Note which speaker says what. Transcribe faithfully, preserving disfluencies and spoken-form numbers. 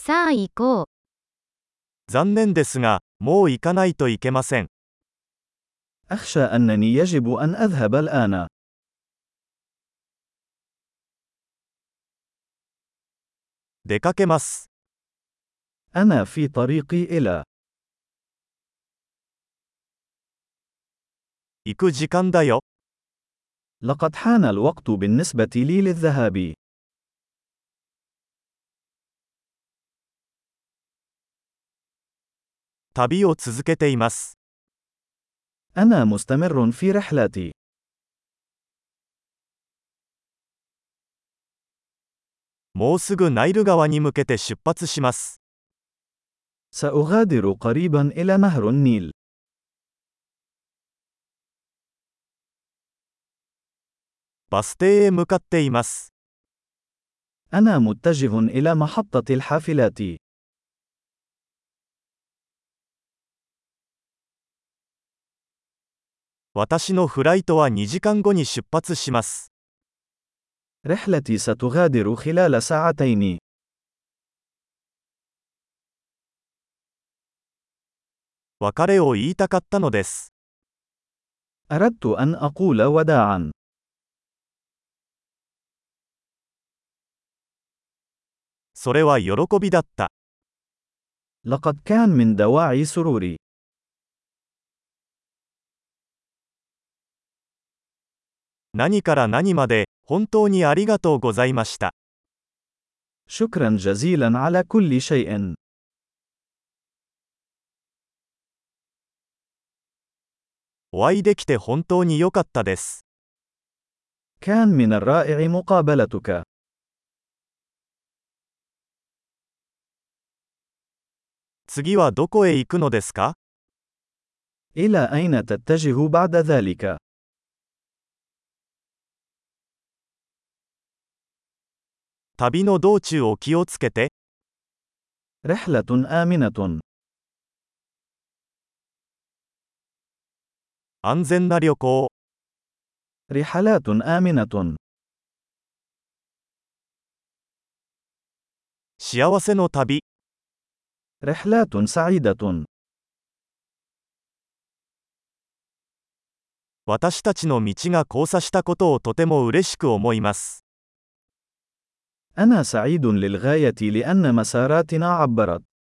Speaker 1: さあ行こう。
Speaker 2: 残念ですが、もう行かないといけません。
Speaker 3: أخشى أنني يجب أن أذهب الآن.
Speaker 2: 出かけます。
Speaker 3: أنا في طريقي إلى.
Speaker 2: 行く時間だよ。
Speaker 3: لقد حان الوقت بالنسبة لي للذهاب.
Speaker 2: 旅を続けています。
Speaker 3: أنا مستمر في رحلتي.
Speaker 2: もうすぐナイル川に向けて出発します。
Speaker 3: سأغادر قريبا إلى نهر النيل.
Speaker 2: バス停へ向かっています。
Speaker 3: أنا متجه إلى محطة الحافلات.
Speaker 2: 私のフライトはにじかんごに出発します。
Speaker 3: رحلتي ستغادر خلال ساعتين.
Speaker 2: 別れを言いたかったのです。
Speaker 3: أردت أن أقول وداعا.
Speaker 2: それは喜びだった。
Speaker 3: لقد كان من دواعي سروري.
Speaker 2: 何から何まで、本当にありがとうございました。
Speaker 3: شكرا جزيلا على كل شيء.
Speaker 2: お会いできて本当に良かったです。
Speaker 3: كان من الرائع مقابلتك.
Speaker 2: 次はどこへ行くのですか？
Speaker 3: إلى أين تتجه بعد ذلك؟
Speaker 2: 旅の道中を気をつけて。
Speaker 3: رحلة آمنة.
Speaker 2: 安全な旅行。
Speaker 3: رحلات آمنة.
Speaker 2: 幸せの旅。
Speaker 3: رحلات سعيدة.
Speaker 2: 私たちの道が交差したことをとても嬉しく思います。
Speaker 3: أنا سعيد للغاية لأن مساراتنا عبرت.